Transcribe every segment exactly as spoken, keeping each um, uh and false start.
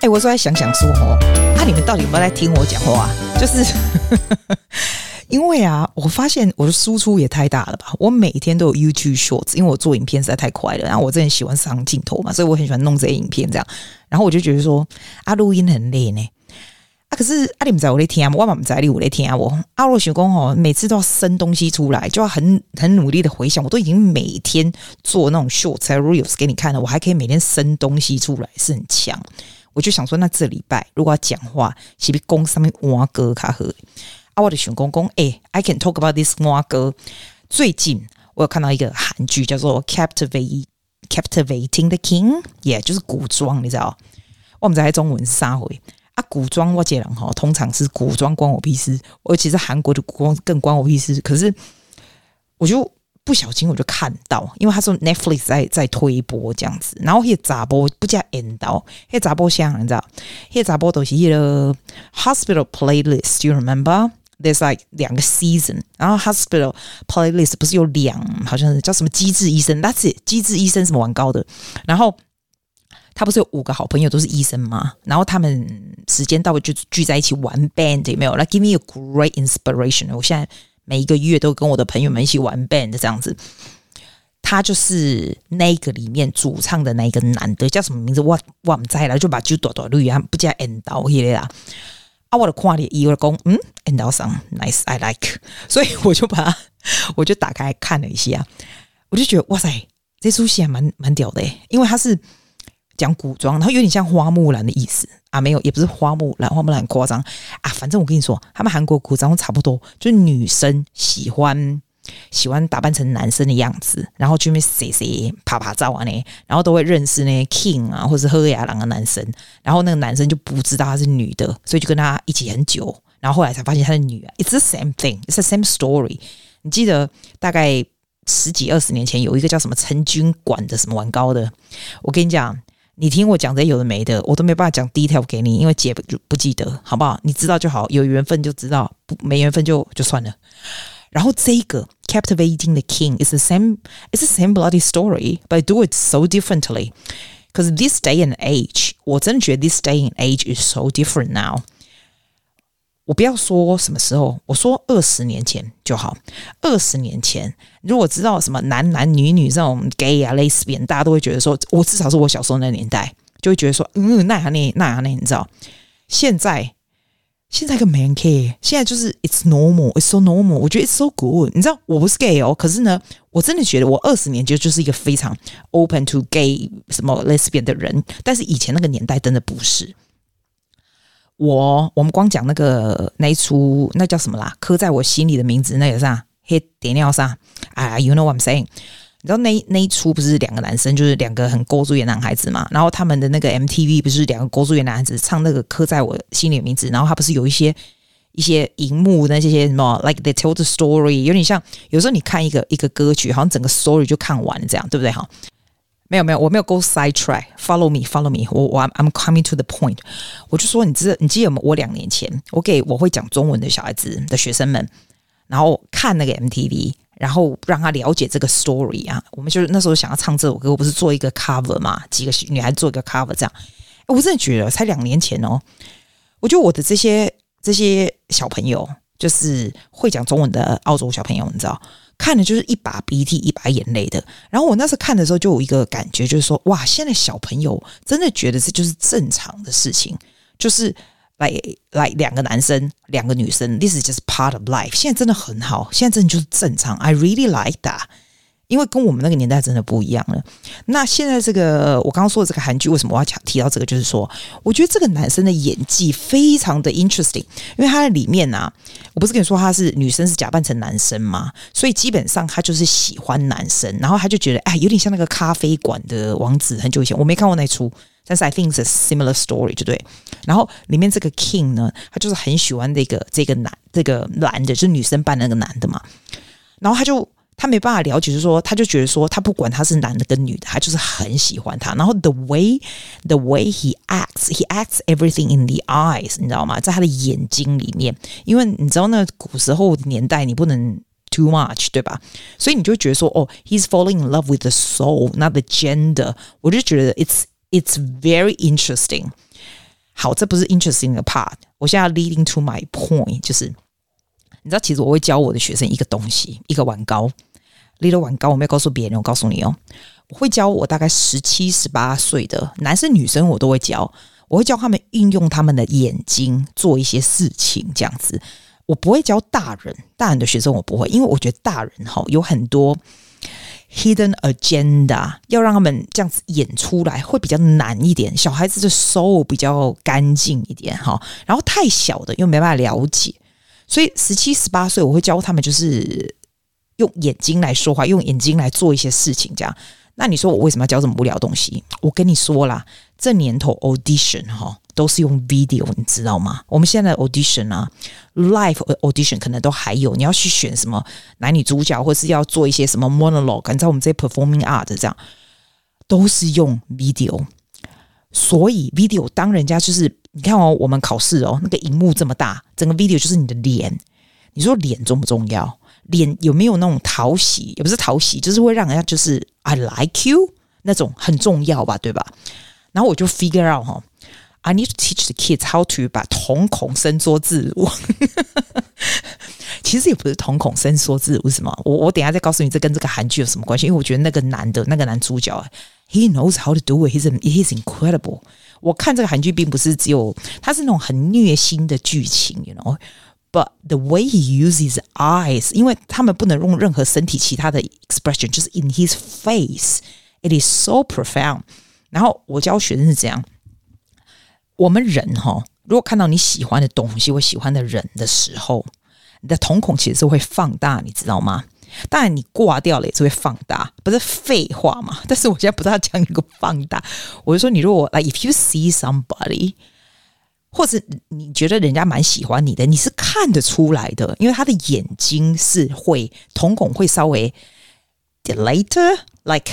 哎，我說來想想說哦，啊，你們到底有沒有在聽我講話？就是因為啊，我發現我的輸出也太大了吧！我每天都有 YouTube Shorts，因為我做影片實在太快了，然後我真的喜歡上鏡頭嘛，所以我很喜歡弄這些影片這樣。然後我就覺得說，啊，錄音很累呢。啊，可是啊，你們在我在聽，我嘛不在你我在聽我。啊，我想說哦，每次都要生東西出來，就要很很努力的回想。我都已經每天做那種 Shorts 和 Reels 給你看了，我還可以每天生東西出來，是很強。我就想說，那這禮拜如果要講話，是不是講上面蛙歌卡好？啊，我的想講講，哎 ，I can talk about this 蛙歌。最近我有看到一個韓劇叫做 Captivate Captivating the King， 也、yeah, 就是古裝，你知道？我們在中文是啥回？啊，古裝我這人哈，通常是古裝關我屁事，而且是韓國的古裝更關我屁事。可是我就不小心我就看到，因為他說 Netflix 在在推播這樣子，然後那個查某不加引導，那個查某像你知道，那個查某都是那個 Hospital Playlist，Do you remember？ There's like 兩個 season， 然後 Hospital Playlist 不是有兩，好像是叫什麼機智醫生 ，That's it， 機智醫生什麼玩高的，然後。他不是有五個好朋友都是醫生嗎？然後他們時間到了就聚在一起玩 band， 有沒有？ Like give me a great inspiration。我現在每一個月都跟我的朋友們一起玩 band 這樣子。他就是那個裡面主唱的那一個男的，叫什麼名字？我我不知道，就把酒朵朵綠啊，不加 end 到那個啦。啊，我的看了以為講，嗯 end 到上 nice，I like， 所以我就把它，我就打開看了一下，我就覺得哇塞，這出戲還蠻蠻屌的，因為他是。講古裝，然後有點像花木蘭的意思啊，沒有，也不是花木蘭，花木蘭很誇張啊。反正我跟你說，他們韓國古裝差不多，就是女生喜歡喜歡打扮成男生的樣子，然後去那邊誰誰拍拍照啊呢，然後都會認識那些 king 啊，或是喝雅郎的男生，然後那個男生就不知道她是女的，所以就跟他一起很久，然後後來才發現她是女的。It's the same thing, it's the same story。你記得大概十幾二十年前有一個叫什麼陳軍館的什麼玩高的，我跟你講。你聽我講這些有的沒的，我都沒辦法講 detail 給你，因為姐不不記得，好不好？你知道就好，有緣分就知道，不沒緣分就就算了。然後這個 Captivating the King is the same, it's the same bloody story, but I do it so differently. Because this day and age, 我真的覺得 this day and age is so different now. 我不要說什麼時候，我說二十年前就好。二十年前，如果知道什麼男男女女這種 gay 啊、lesbian， 大家都會覺得說，我至少是我小時候那個年代，就會覺得說，嗯，那樣那那樣那，你知道？現在現在個 man care， 現在就是 it's normal， it's so normal， 我覺得 it's so good。你知道，我不是 gay 哦，可是呢，我真的覺得我二十年前就是一個非常 open to gay 什麼 lesbian 的人，但是以前那個年代真的不是。我我們光講那個那一出那叫什麼啦？刻在我心裡的名字，那個啥黑點尿啥啊 ？You know what I'm saying？ 你知道那那一出不是兩個男生，就是兩個很勾住的男孩子嘛？然後他們的那個 M T V 不是兩個勾住的男孩子唱那個刻在我心裡的名字，然後他不是有一些一些熒幕那些些什麼 ，like they tell the story， 有點像有時候你看一個一個歌曲，好像整個 story 就看完了這樣，對不對？哈。沒有沒有，我沒有 go side track。Follow me, follow me 我。我我 I'm coming to the point。我就說，你知道，你記得嗎？我兩年前，我給我會講中文的小孩子的學生們，然後看那個 M T V， 然後讓他了解這個 story 啊。我們就是那時候想要唱這首歌，我不是做一個 cover 嘛？幾個女孩子做一個 cover 這樣。我真的覺得，才兩年前哦，我覺得我的這些這些小朋友，就是會講中文的澳洲小朋友，你知道。看的就是一把鼻涕一把眼淚的，然後我那時候看的時候就有一個感覺，就是說哇，現在小朋友真的覺得這就是正常的事情，就是來來兩個男生兩個女生 ，this is just part of life。現在真的很好，現在真的就是正常 ，I really like that。因為跟我們那個年代真的不一樣了。那現在這個我剛剛說的這個韓劇，為什麼我要提到這個？就是說，我覺得這個男生的演技非常的 interesting，因為他在裡面啊，我不是跟你說他是女生是假扮成男生嗎？所以基本上他就是喜歡男生，然後他就覺得哎，有點像那個咖啡館的王子。很久以前我沒看過那出，但是 I think it's a similar story， 就對。然後裡面這個 King 呢，他就是很喜歡這個這個男這個男的，就是女生扮那個男的嘛，然後他就。他沒辦法了解，就是說，他就覺得說，他不管他是男的跟女的，他就是很喜歡他。然後 the way the way he acts, he acts everything in the eyes， 你知道嗎？在他的眼睛裡面，因為你知道那古時候的年代，你不能 too much， 對吧？所以你就覺得說，哦 ，he's falling in love with the soul, not the gender。我就覺得 it's it's very interesting。 好，這不是 interesting 的 part， 我現在 leading to my point， 就是你知道，其實我會教我的學生一個東西，一個碗糕，little 碗糕，我沒有告訴別人，我告訴你哦，我會教我大概十七、十八歲的男生女生，我都會教，我會教他們運用他們的眼睛做一些事情，這樣子。我不會教大人，大人的學生我不會，因為我覺得大人哈有很多 hidden agenda， 要讓他們這樣子演出來會比較難一點。小孩子的 soul 比較乾淨一點哈，然後太小的又沒辦法了解，所以十七、十八歲我會教他們就是用眼睛來說話，用眼睛來做一些事情這樣。那你說我為什麼要教這麼無聊的東西？我跟你說啦，這年頭 audition 哈都是用 video， 你知道嗎？我們現在的 audition 啊 ，live audition 可能都還有，你要去選什麼男女主角，或是要做一些什麼 monologue， 你知道我們這些 performing art 這樣都是用 video。所以 video 當人家就是你看哦，我們考試哦，那個熒幕這麼大，整個 video 就是你的臉，你說臉重不重要？臉有沒有那種討喜？也不是討喜，就是會讓人家就是 I like you 那種很重要吧，對吧？然後我就 figure out 哈 I need to teach the kids how to 把瞳孔伸縮自如。其實也不是瞳孔伸縮自如，什麼？我我等一下再告訴你，這跟這個韓劇有什麼關係？因為我覺得那個男的那個男主角 ，he knows how to do it. He's he's incredible. 我看這個韓劇並不是只有，它是那種很虐心的劇情 ，you know。But the way he uses his eyes， 因為他們不能用任何身體其他的 expression， 就是 in his face，it is so profound。然後我教學生是這樣，我們人哈，如果看到你喜歡的東西或喜歡的人的時候，你的瞳孔其實是會放大，你知道嗎？當然你掛掉了也是會放大，不是廢話嘛？但是我現在不是要講一個放大，我就說你如果 like if you see somebody。或者你覺得人家蠻喜歡你的，你是看得出來的，因為他的眼睛是會瞳孔會稍微 dilate like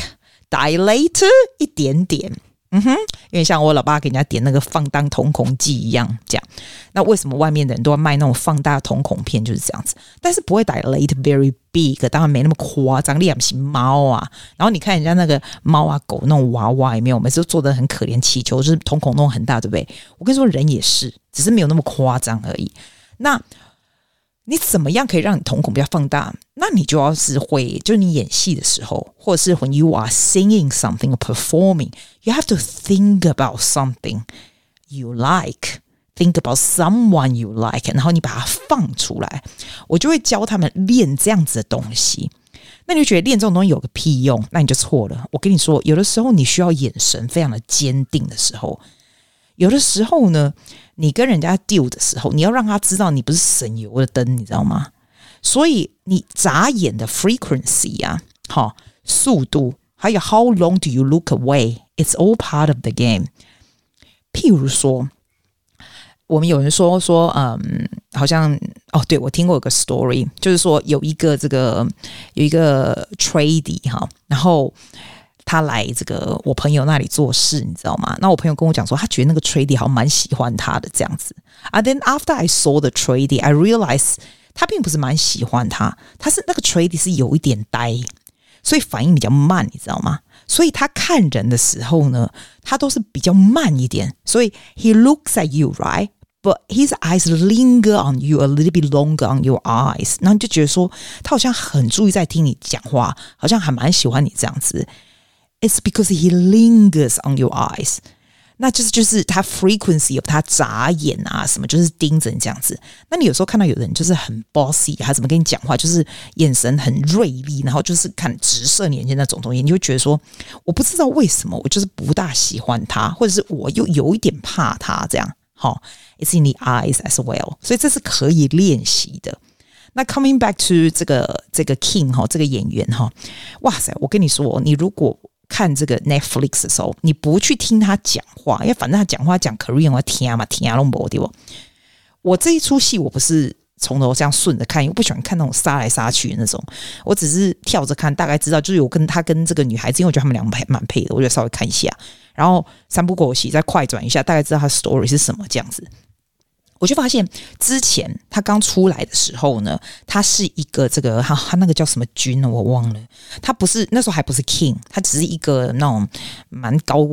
dilate 一點點，嗯哼，因為像我老爸給人家點那個放大瞳孔劑一樣，這樣。那為什麼外面的人都要賣那種放大瞳孔片？就是這樣子，但是不會 dilate very big， 當然沒那麼誇張。你也不是貓啊，然後你看人家那個貓啊狗那種娃娃，有沒有？每次都做得很可憐，氣球就是瞳孔弄很大，對不對？我跟你說，人也是，只是沒有那麼誇張而已。那你怎麼樣可以讓你瞳孔比較放大？那你就要是會，就是你演戲的時候，或者是 when you are singing something or performing, you have to think about something you like, think about someone you like, 然後你把它放出來。我就會教他們練這樣子的東西。那你就覺得練這種東西有個屁用？那你就錯了。我跟你說，有的時候你需要眼神非常的堅定的時候，有的時候呢，你跟人家 deal 的時候，你要讓他知道你不是省油的燈，你知道嗎？所以你眨眼的 frequency 啊，好，速度，還有 how long do you look away? It's all part of the game。譬如說，我們有人說說，嗯，好像哦，對，我聽過有個 story， 就是說有一個這個有一個 tradie 哈，然後他來這個我朋友那裡做事，你知道嗎？那我朋友跟我講說，他覺得那個 tradie 好像蠻喜歡他的這樣子。And then after I saw the tradie, I realized 他並不是蠻喜歡他，他是那個 tradie 是有一點呆，所以反應比較慢，你知道嗎？所以他看人的時候呢，他都是比較慢一點。所以 he looks at you, right? But his eyes linger on you a little bit longer on your eyes. 然後你就覺得說，他好像很注意在聽你講話，好像還蠻喜歡你這樣子。It's because he lingers on your eyes. 那就是就是他 frequency 有他眨眼啊什麼，就是盯着你這樣子。那你有時候看到有人就是很 bossy， 他怎麼跟你講話，就是眼神很銳利，然後就是看直射眼睛那種東西，你就會覺得說，我不知道為什麼，我就是不大喜歡他，或者是我又有一點怕他這樣。好 ，It's in the eyes as well， 所以這是可以練習的。那 coming back to 這個這個 King 哈，這個演員哈，哇塞，我跟你說，你如果看這個 Netflix 的時候，你不去聽他講話，因為反正他講話講 Korean 我聽嘛，聽都沒對不？我這一出戲我不是從頭這樣順着看，因為我不喜歡看那種殺來殺去的那種，我只是跳着看，大概知道就是有跟他跟這個女孩子，因為我覺得他們兩個蠻配的，我就稍微看一下，然後三不狗洗再快轉一下，大概知道他 story 是什麼這樣子。我就發現之前他剛出來的時候呢，他是一個這個他他那個叫什麼軍呢？我忘了。他不是那時候還不是 King， 他只是一個那種蠻高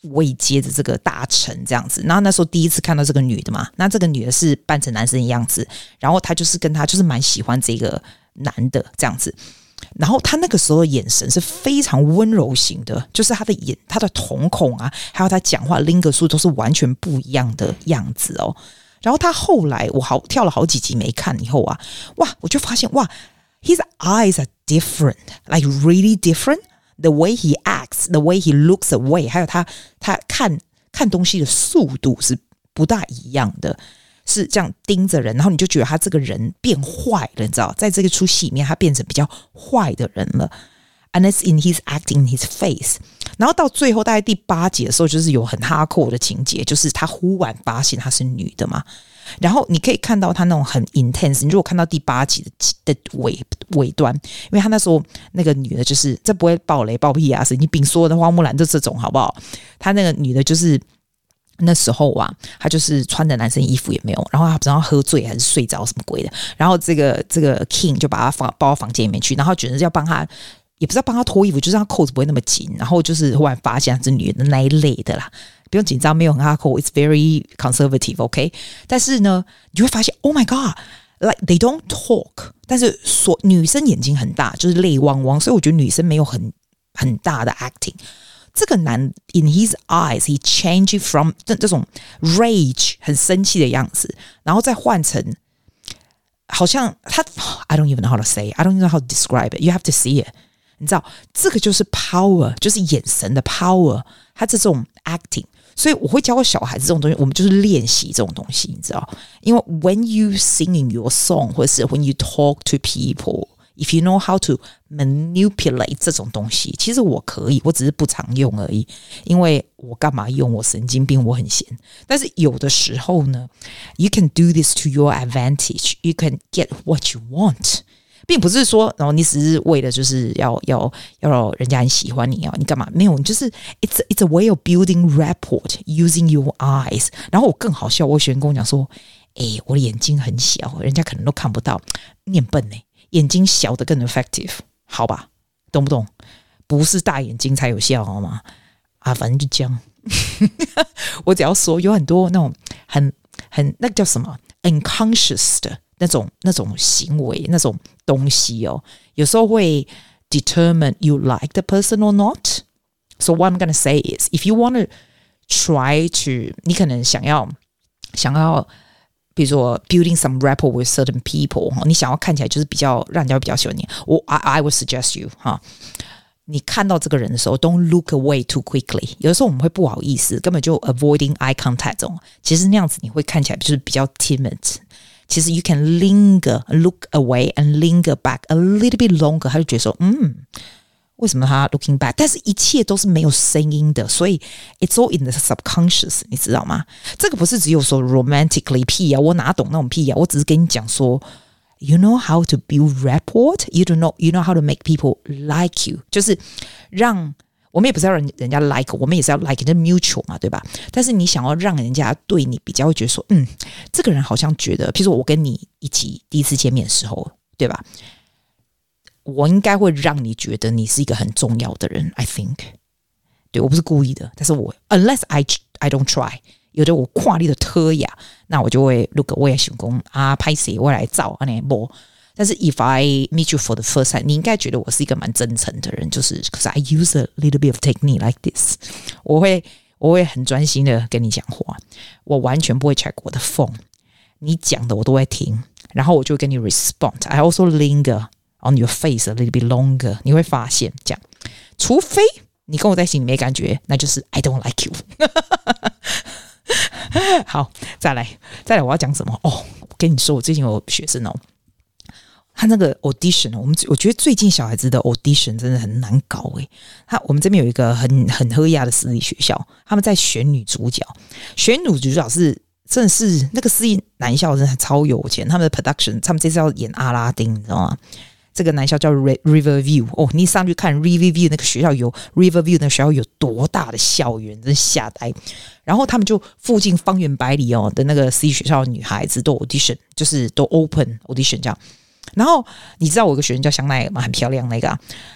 位階的這個大臣這樣子。然後那時候第一次看到這個女的嘛，那這個女的是扮成男生的樣子，然後他就是跟他就是蠻喜歡這個男的這樣子。然後他那個時候的眼神是非常溫柔型的，就是他的眼、他的瞳孔啊，還有他講話 lingo 都是完全不一樣的樣子哦。然後他後來我好跳了好幾集沒看以後啊，哇，我就發現哇 ，his eyes are different, like really different. The way he acts, the way he looks away， 還有他他看看東西的速度是不大一樣的。是這樣盯着人，然後你就覺得他這個人變壞了，你知道，在這個出戲裡面，他變成比較壞的人了。And it's in his acting, in his face。然後到最後大概第八集的時候，就是有很hardcore的情節，就是他忽然發現她是女的嘛。然後你可以看到他那種很 intense。你如果看到第八集的的尾尾端，因為他那時候那個女的，就是這不會爆雷爆屁啊，神經病說的花木蘭就這種好不好？他那個女的就是。那時候啊，他就是穿的男生衣服也沒有，然後他不知道喝醉還是睡着什麼鬼的，然後這個這個 King 就把他放抱到房間裡面去，然後覺得要幫他，也不知道幫他脫衣服，就是讓他扣子不會那麼緊，然後就是忽然發現他是女的那一類的啦，不用緊張，沒有很 hardcore， it's very conservative，OK？、Okay? 但是呢，你就會發現 ，Oh my God，like they don't talk， 但是所女生眼睛很大，就是淚汪汪，所以我覺得女生沒有很很大的 acting。這個男 in his eyes he changed from 這這種 rage 很生氣的樣子，然後再換成好像他 I don't even know how to say I don't even know how to describe it you have to see it 你知道這個就是 power 就是眼神的 power 他這種 acting 所以我會教小孩子這種東西我們就是練習這種東西你知道因為 when you sing in your song 或者是 when you talk to people If you know how to manipulate 這種東西，其實我可以，我只是不常用而已。因為我幹嘛用？我神經病，我很閒。但是有的時候呢 ，you can do this to your advantage. You can get what you want， 並不是說，然後你只是為了就是要要要人家很喜歡你啊，你幹嘛？沒有，你就是 it's it's a way of building rapport using your eyes。然後我更好笑，我學員跟我講說，哎，我的眼睛很小，人家可能都看不到，你很笨呢、欸。眼睛小的更 effective， 好吧，懂不懂？不是大眼睛才有效，好嗎？啊，反正就這樣。我只要說，有很多那種很很那個叫什麼 unconscious 的那種那種行為，那種東西哦，有時候會 determine you like the person or not. So what I'm gonna say is, if you want to try to， 你可能想要想要。比如說 building some rapport with certain people， 你想要看起來就是比較讓人家比較喜歡你，我 I, I would suggest you 哈，你看到這個人的時候 ，don't look away too quickly。有的时候我們會不好意思，根本就 avoiding eye contact 這種，其實那樣子你會看起來就是比較 timid。其實 you can linger, look away and linger back a little bit longer。他就覺得說，嗯。為什麼他 looking back？ 但是一切都是沒有聲音的，所以 it's all in the subconscious， 你知道嗎？這個不是只有說 romantically 屁啊，我哪懂那種屁啊？我只是跟你講說 ，you know how to build rapport， you don't know you know how to make people like you， 就是讓我們也不是要人人家 like， 我們也是要 like， 這 mutual 嘛，對吧？但是你想要讓人家對你比較會覺得說，嗯，這個人好像覺得，譬如說我跟你一起第一次見面的時候，對吧？我應該會讓你覺得你是一個很重要的人 I think 對我不是故意的但是我 unless I, I don't try 有的我跨力的特雅那我就會 look 我也想說啊拍誰我來照但是 if I meet you for the first time 你應該覺得我是一個蠻真誠的人就是 cause I use a little bit of technique like this 我會我會很專心的跟你講話我完全不會 check 我的 phone 你講的我都會聽然後我就會跟你 respond I also linger on your face a little bit longer 你會發現這樣除非你跟我在一起你沒感覺那就是 I don't like you 好再來再來我要講什麼哦我跟你說我最近有學生哦他那個 audition 我們我覺得最近小孩子的 audition 真的很難搞誒他我們這邊有一個很很喝亞的私立學校他們在選女主角選女主角是真的是那個私立男校真的超有錢他們的 production 他們這次要演阿拉丁你知道嗎這個男校叫 Riverview 哦，你上去看 Riverview 那個學校有 Riverview 那個學校有多大的校園，真嚇呆。然後他們就附近方圓百里哦的那個私立學校的女孩子都 audition， 就是都 open audition 這樣。然後你知道我有個學生叫香奈兒嗎？很漂亮那個、啊。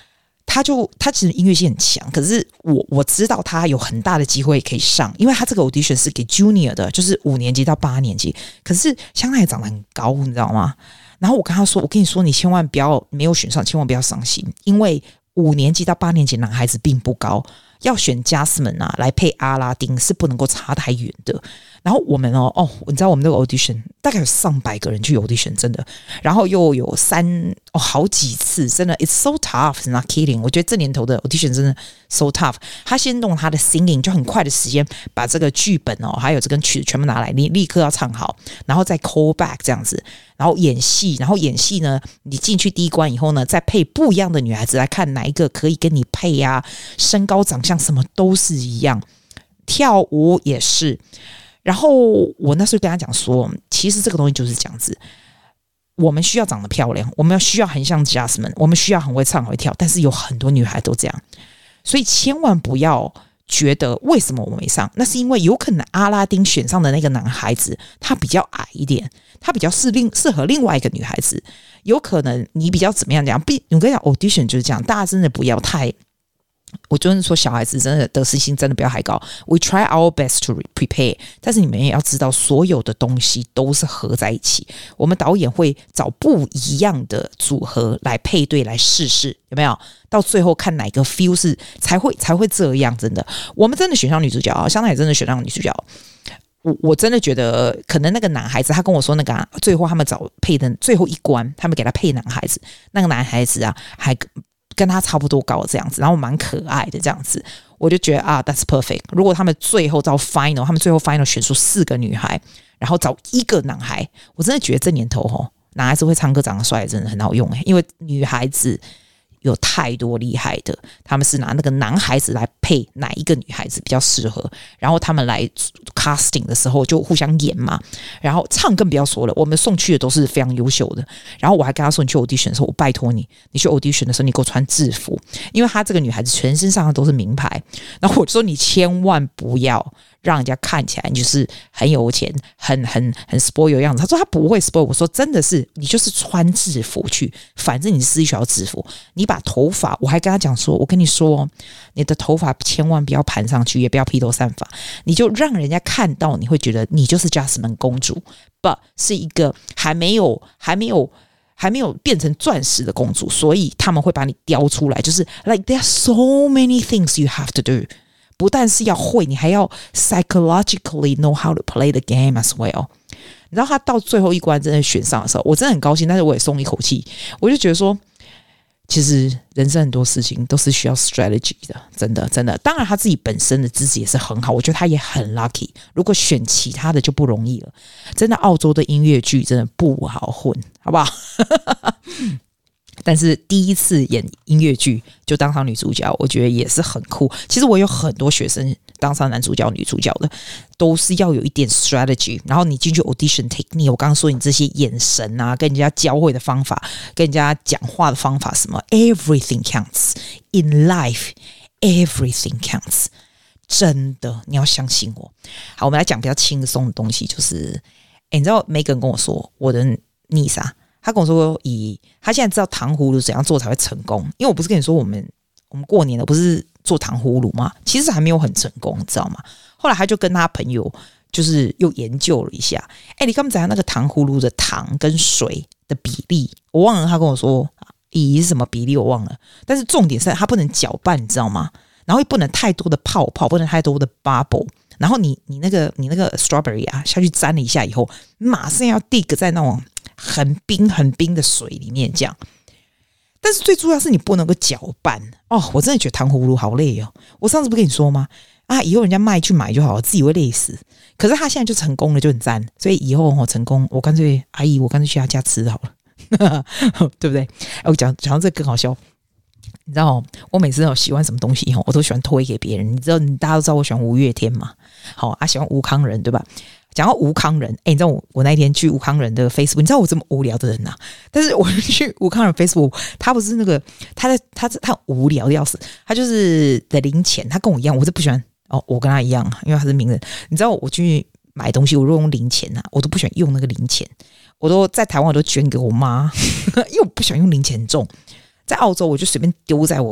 他就他其實音樂性很強，可是我我知道他有很大的機會可以上，因為他這個 audition 是給 junior 的，就是五年級到八年級。可是香奈兒長得很高，你知道嗎？然後我跟他說，我跟你說，你千萬不要沒有選上，千萬不要傷心，因為五年級到八年級男孩子並不高，要選 Jasmine 啊來配阿拉丁是不能夠差太遠的。然後我們哦哦，你知道我們那個 audition 大概有上百個人去 audition， 真的，然後又有三哦好幾次，真的 it's so tough， not kidding。我覺得這年頭的 audition 真的 so tough。他先弄他的 singing， 就很快的時間把這個劇本哦，還有這個曲子全部拿來，你立刻要唱好，然後再 call back 這樣子，然後演戲，然後演戲呢，你進去第一關以後呢，再配不一樣的女孩子來看哪一個可以跟你配啊，身高、長相什麼都是一樣，跳舞也是。然後我那時候跟他講說，其實這個東西就是這樣子，我們需要長得漂亮，我們要需要很像 Jasmine， 我們需要很會唱很會跳，但是有很多女孩都這樣，所以千萬不要覺得為什麼我沒上，那是因為有可能阿拉丁選上的那個男孩子他比較矮一點，他比較適另適合另外一個女孩子，有可能你比較怎麼樣講，我跟你講 audition 就是這樣，大家真的不要太。我就是說，小孩子真的得失心真的不要太高。We try our best to prepare， 但是你們也要知道，所有的東西都是合在一起。我們導演會找不一樣的組合來配對，來試試有沒有？到最後看哪個 feel 是才會才會這樣。真的，我們真的選上女主角啊，香奈也真的選上女主角。我我真的覺得，可能那個男孩子，他跟我說那個、啊、最後他們找配的最後一關，他們給他配男孩子，那個男孩子啊還。跟他差不多高這樣子，然後蠻可愛的這樣子，我就覺得啊 ，that's perfect。如果他們最後到 final， 他們最後 final 選出四個女孩，然後找一個男孩，我真的覺得這年頭吼，男孩子會唱歌長得帥真的很好用誒，因為女孩子有太多厲害的，他們是拿那個男孩子來配哪一個女孩子比較適合，然後他們來 casting 的時候就互相演嘛，然後唱更不要說了，我們送去的都是非常優秀的。然後我還跟他說，你去 audition 的時候，我拜托你，你去 audition 的時候你給我穿制服，因為他這個女孩子全身上都是名牌，然後我就說你千萬不要讓人家看起來你就是很有錢，很很很 spoil 的樣子。他說他不會 spoil， 我說真的是你就是穿制服去，反正你是私立學校制服，你把頭髮，我還跟他講說，我跟你說，你的頭髮千萬不要盤上去，也不要披頭散髮，你就讓人家看到，你會覺得你就是 Jasmine 公主 ，but 是一個還沒有還沒有還沒有變成鑽石的公主，所以他們會把你雕出來，就是 like there are so many things you have to do。不但是要會，你還要 psychologically know how to play the game as well。你知道他到最後一關真的選上的時候，我真的很高興，但是我也鬆一口氣。我就覺得說，其實人生很多事情都是需要 strategy 的，真的真的。當然他自己本身的資質也是很好，我覺得他也很 lucky。如果選其他的就不容易了。真的，澳洲的音樂劇真的不好混，好不好？但是第一次演音樂劇就當上女主角，我覺得也是很酷。其實我有很多學生當上男主角、女主角的，都是要有一點 strategy。然後你進去 audition technique， 我剛剛說你這些眼神啊，跟人家交匯的方法，跟人家講話的方法，什麼 everything counts in life， everything counts。真的，你要相信我。好，我們來講比較輕鬆的東西，就是，誒你知道 Megan 跟我說，我的 niece 啊。他跟我說，以他現在知道糖葫蘆怎樣做才會成功，因為我不是跟你說我們我們過年了不是做糖葫蘆嗎？其實還沒有很成功，你知道嗎？後來他就跟他朋友就是又研究了一下，哎，你剛才那個糖葫蘆的糖跟水的比例，我忘了。他跟我說，以是什麼比例我忘了，但是重點是它不能攪拌，你知道嗎？然後也不能太多的泡泡，不能太多的 bubble。然後你你那個你那個 strawberry 啊下去沾了一下以後，馬上要 dig 在那種很冰很冰的水裡面這樣。但是最重要是你不能夠攪拌哦，我真的覺得糖葫蘆好累哦。我上次不跟你說嗎？啊，以後人家賣去買就好了，自己會累死。可是他現在就成功了，就很讚。所以以後我、哦、成功，我乾脆阿姨，我乾脆去他家吃好了，對不對？我講講到這個更好笑。你知道我每次有喜歡什麼東西我都喜歡推給別人。你知道，大家都知道我喜歡吳月天嘛？好啊，喜歡吳康仁，對吧？講到吳康仁，哎，你知道我我那一天去吳康仁的 Facebook， 你知道我這麼無聊的人吶、啊？但是我去吳康仁 Facebook， 他不是那個，他在他他很無聊的要死，他就是的零錢，他跟我一樣，我是不喜歡哦，我跟他一樣，因為他是名人。你知道我去買東西，我如果用零錢吶、啊，我都不喜歡用那個零錢，我都在台灣我都捐給我媽，因為我不喜歡用零錢重。在澳洲，我就隨便丟在我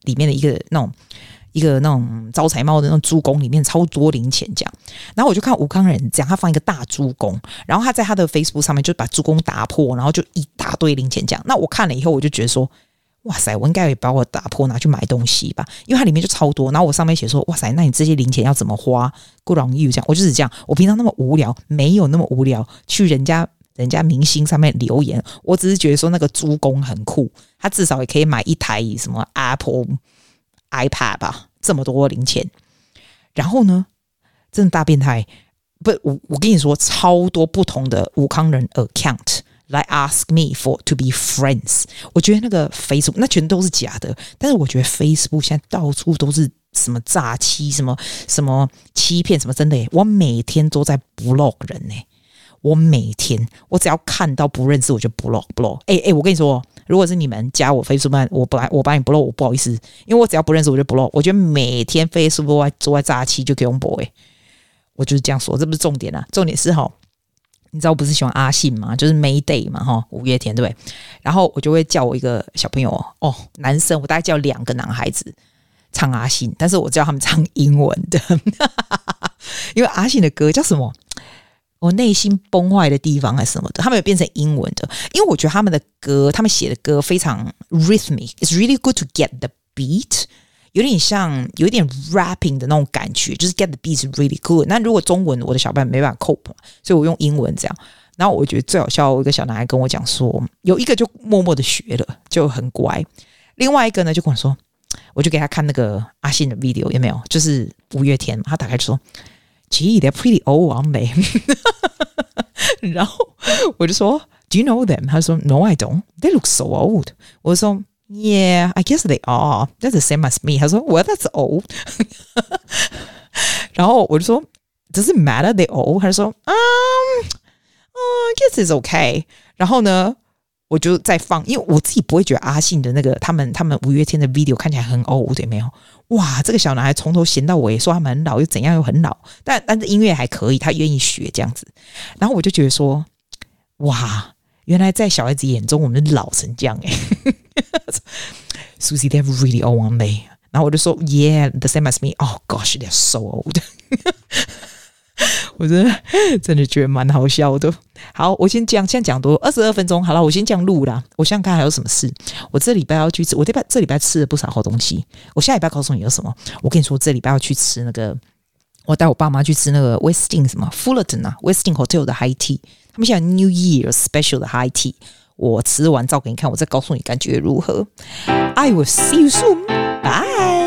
裡面的一個那種一個那種招財貓的那種豬公裡面超多零錢這樣。然後我就看吳慷仁這樣，他放一個大豬公，然後他在他的 Facebook 上面就把豬公打破，然後就一大堆零錢這樣。那我看了以後，我就覺得說，哇塞，我應該也把我打破拿去買東西吧，因為它裡面就超多。然後我上面寫說，哇塞，那你這些零錢要怎麼花？good on you這樣。我就是這樣，我平常那麼無聊，沒有那麼無聊去人家人家明星上面留言。我只是覺得說那個豬公很酷，他至少也可以買一台什麼 Apple iPad 吧，這麼多零錢。然後呢，真的大變態，不，我我跟你說，超多不同的吳慷仁 account。來 ask me for to be friends， 我覺得那個 Facebook 那全都是假的，但是我覺得 Facebook 現在到處都是什麼詐欺、什麼什麼欺騙、什麼真的耶，我每天都在 block 人耶，我每天我只要看到不認識我就 block block。哎哎，我跟你說，如果是你們加我 Facebook， 我本來我把你 block， 我不好意思，因為我只要不認識我就 block。我覺得每天 Facebook 都在詐欺就給我 block，我就是這樣說，這不是重點啊，重點是齁。你知道我不是喜歡阿信嗎？就是 Mayday 嘛，哈，五月天對不對？然後我就會叫我一個小朋友哦，男生，我大概叫兩個男孩子唱阿信，但是我叫他們唱英文的，因為阿信的歌叫什麼？我內心崩壞的地方還是什麼的，他們有變成英文的，因為我覺得他們的歌，他們寫的歌非常 rhythmic，it's really good to get the beat。有點像有一點 rapping 的那種感覺，就是 get the beat is really good。那如果中文我的小伴沒辦法 cope， 所以我用英文這樣。然後我覺得最好笑，我一個小男孩跟我講說，有一個就默默的學了，就很乖。另外一個呢就跟我說，我就給他看那個阿信的 video， 有沒有？就是五月天嘛，他打開就說 ，Gee, they're pretty old, aren't they？ 然後我就說 ，Do you know them？ 他說 ，No, I don't. They look so old。我說。Yeah, I guess they are. That's the same as me. 他說 Well, that's old. 然後我就說 Does it matter they old? 他就說 Um, oh, I guess it's okay. 然後呢，我就再放，因為我自己不會覺得阿信的那個他們他們五月天的 video 看起來很 old， 對沒有？哇，這個小男孩從頭閒到尾，說他們很老又怎樣又很老，但但是音樂還可以，他願意學這樣子。然後我就覺得說，哇。原來在小孩子眼中，我們老成這樣哎，Susie, they're really old, aren't they? 然後我就說 ，Yeah, the same as me. Oh gosh, they're so old. 我真的真的覺得蠻好笑的。好，我先講，現在講多二十二分鐘，好了，我先這樣錄啦。我想想看還有什麼事。我這禮拜要去吃，我這禮拜這禮拜吃了不少好東西。我下禮拜告訴你有什麼。我跟你說，這禮拜要去吃那個，我帶我爸媽去吃那個 Westin 什麼 Fullerton 啊 ，Westin Hotel 的 High Tea。他們現在 New Year Special 的 High Tea， 我吃完照給你看，我再告訴你感覺如何。I will see you soon. Bye.